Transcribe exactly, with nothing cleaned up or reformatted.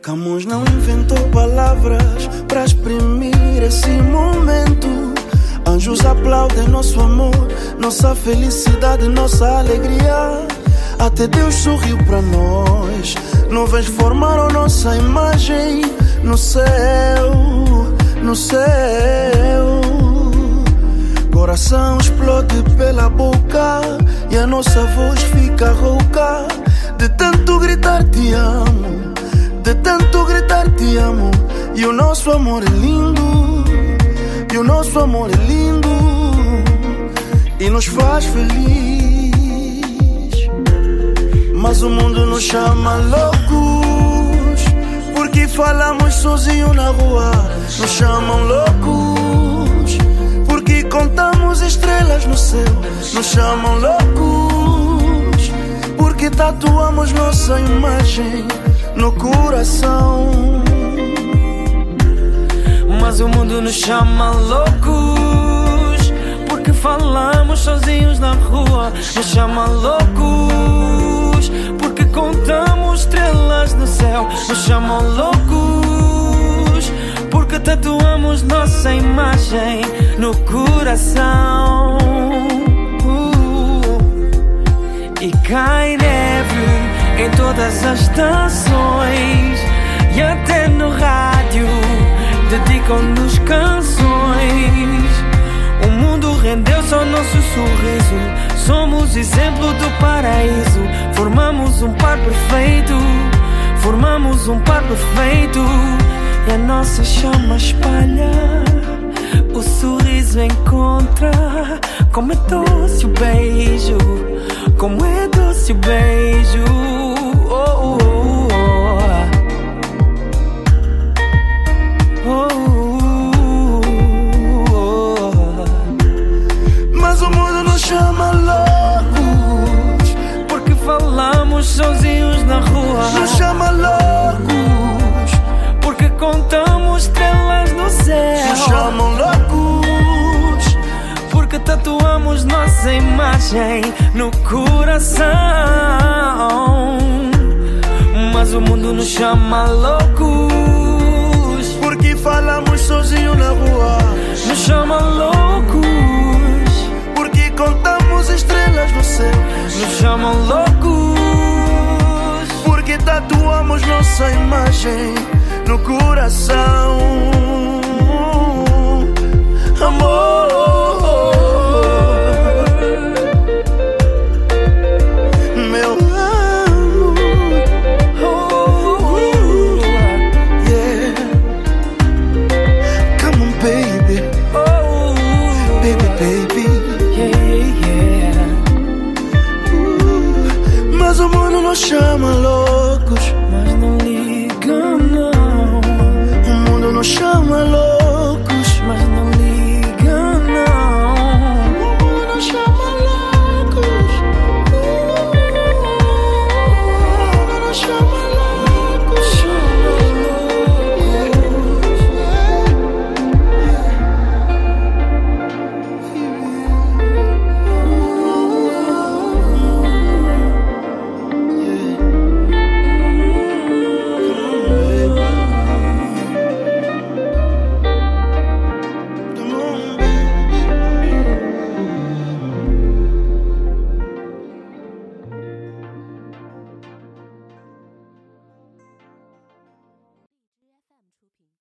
Camões não inventou palavras para exprimir esse momento. Anjos aplaudem nosso amor, nossa felicidade, nossa alegria. Até Deus sorriu para nós. Nuvens formaram nossa imagem no céu, no céu. Coração explode pela boca e a nossa voz fica rouca. De tanto gritar te amo, de tanto gritar te amo. E o nosso amor é lindo, e o nosso amor é lindo, e nos faz feliz. Mas o mundo nos chama loucos, porque falamos sozinho na rua. Nos chamam loucos, porque contamos estrelas no céu. Nos chamam loucos, porque tatuamos nossa imagem no coração. Mas o mundo nos chama loucos, porque falamos sozinhos na rua. Nos chama loucos, porque contamos estrelas no céu. Nos chamam loucos, porque tatuamos nossa imagem no coração. uh, E cai neve em todas as estações, e até no rádio dedicam-nos canções. O mundo rendeu-se ao nosso sorriso. Somos exemplo do paraíso. Formamos um par perfeito, formamos um par perfeito. E a nossa chama espalha, o sorriso encontra. Como é doce o beijo, como é doce o beijo. Oh, oh, oh. Mas o mundo nos chama loucos, porque falamos sozinhos na rua. nos chama loucos, porque contamos estrelas no céu. nos chamam loucos, porque tatuamos nossa imagem no coração. Mas o mundo nos chama loucos, porque falamos sozinho na rua. nos chama loucos, porque contamos estrelas no céu. nos chamam loucos, porque tatuamos nossa imagem no coração.